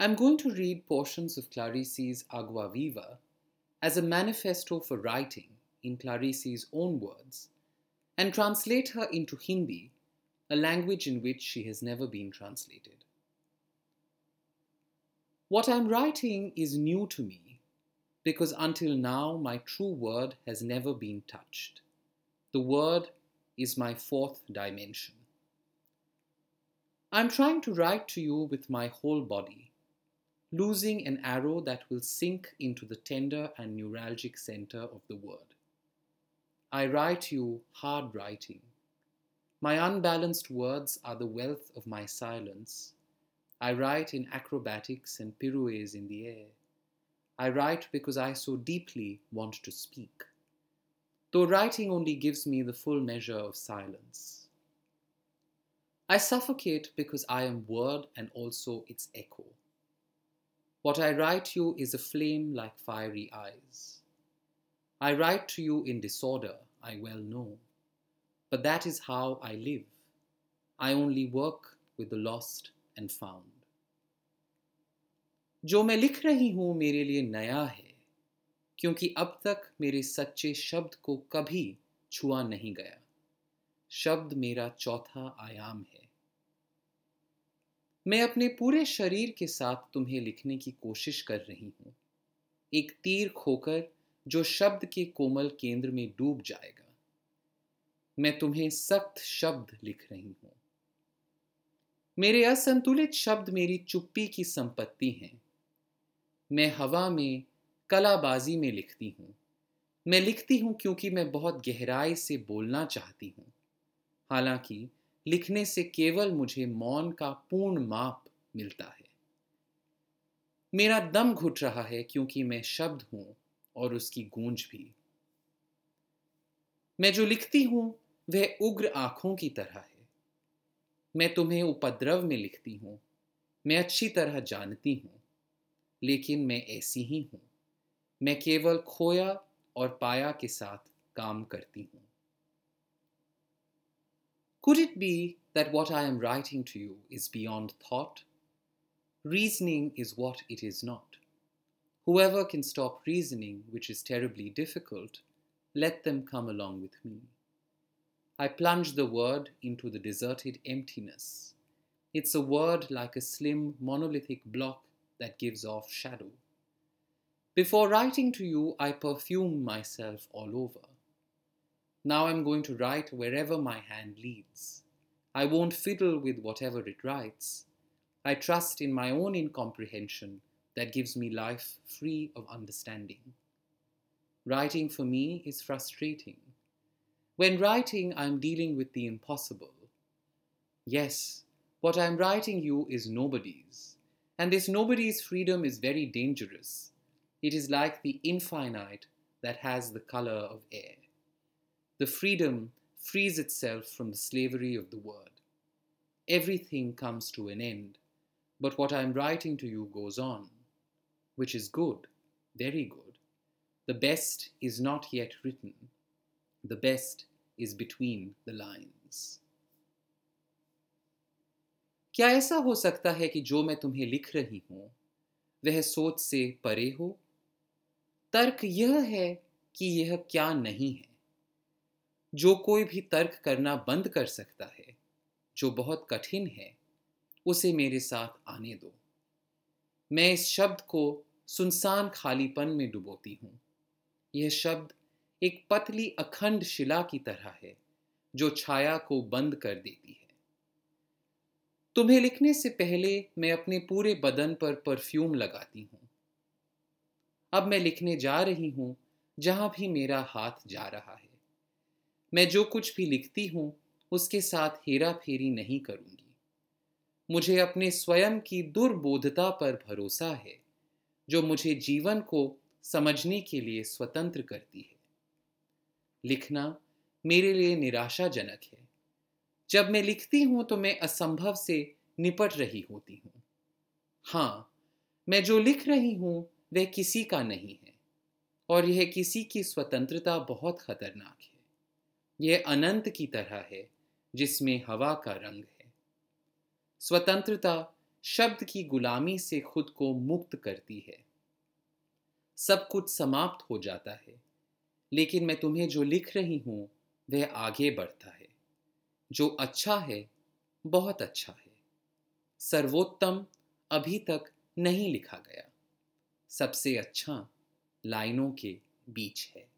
I'm going to read portions of Clarice's Agua Viva as a manifesto for writing in Clarice's own words and translate her into Hindi, a language in which she has never been translated. What I'm writing is new to me because until now my true word has never been touched. The word is my fourth dimension. I'm trying to write to you with my whole body, losing an arrow that will sink into the tender and neuralgic center of the word. I write you hard writing. My unbalanced words are the wealth of my silence. I write in acrobatics and pirouettes in the air. I write because I so deeply want to speak, though writing only gives me the full measure of silence. I suffocate because I am word and also its echo. What I write you is a flame like fiery eyes. I write to you in disorder, I well know, but that is how I live. I only work with the lost and found. जो मैं लिख रही हूँ मेरे लिए नया है, क्योंकि अब तक मेरे सच्चे शब्द को कभी छुआ नहीं गया. शब्द मेरा चौथा आयाम है. मैं अपने पूरे शरीर के साथ तुम्हें लिखने की कोशिश कर रही हूँ, एक तीर खोकर जो शब्द के कोमल केंद्र में डूब जाएगा. मैं तुम्हें सख्त शब्द लिख रही हूँ. मेरे असंतुलित शब्द मेरी चुप्पी की संपत्ति हैं. मैं हवा में कलाबाजी में लिखती हूँ. मैं लिखती हूँ क्योंकि मैं बहुत गहराई से बोलना चाहती हूँ, हालांकि लिखने से केवल मुझे मौन का पूर्ण माप मिलता है. मेरा दम घुट रहा है क्योंकि मैं शब्द हूँ और उसकी गूंज भी. मैं जो लिखती हूँ वह उग्र आंखों की तरह है. मैं तुम्हें उपद्रव में लिखती हूँ. मैं अच्छी तरह जानती हूँ, लेकिन मैं ऐसी ही हूँ. मैं केवल खोया और पाया के साथ काम करती हूँ. Could it be that what I am writing to you is beyond thought? Reasoning is what it is not. Whoever can stop reasoning, which is terribly difficult, let them come along with me. I plunge the word into the deserted emptiness. It's a word like a slim monolithic block that gives off shadow. Before writing to you, I perfume myself all over. Now I'm going to write wherever my hand leads. I won't fiddle with whatever it writes. I trust in my own incomprehension that gives me life free of understanding. Writing for me is frustrating. When writing, I'm dealing with the impossible. Yes, what I'm writing you is nobody's, and this nobody's freedom is very dangerous. It is like the infinite that has the color of air. The freedom frees itself from the slavery of the word. Everything comes to an end, but what I'm writing to you goes on, which is good, very good. The best is not yet written. The best is between the lines. क्या ऐसा हो सकता है कि जो मैं तुम्हें लिख रही हूं वह सोच से परे हो? तर्क यह है कि यह क्या नहीं है. जो कोई भी तर्क करना बंद कर सकता है, जो बहुत कठिन है, उसे मेरे साथ आने दो. मैं इस शब्द को सुनसान खालीपन में डुबोती हूँ. यह शब्द एक पतली अखंड शिला की तरह है जो छाया को बंद कर देती है. तुम्हें लिखने से पहले मैं अपने पूरे बदन पर परफ्यूम लगाती हूँ. अब मैं लिखने जा रही हूँ जहां भी मेरा हाथ जा रहा है. मैं जो कुछ भी लिखती हूँ उसके साथ हेरा फेरी नहीं करूँगी. मुझे अपने स्वयं की दुर्बोधता पर भरोसा है जो मुझे जीवन को समझने के लिए स्वतंत्र करती है. लिखना मेरे लिए निराशाजनक है. जब मैं लिखती हूँ तो मैं असंभव से निपट रही होती हूँ. हाँ, मैं जो लिख रही हूँ वह किसी का नहीं है, और यह किसी की स्वतंत्रता बहुत खतरनाक है. यह अनंत की तरह है जिसमें हवा का रंग है. स्वतंत्रता शब्द की गुलामी से खुद को मुक्त करती है। सब कुछ समाप्त हो जाता है, लेकिन मैं तुम्हें जो लिख रही हूँ वह आगे बढ़ता है। जो अच्छा है, बहुत अच्छा है। सर्वोत्तम अभी तक नहीं लिखा गया। सबसे अच्छा लाइनों के बीच है।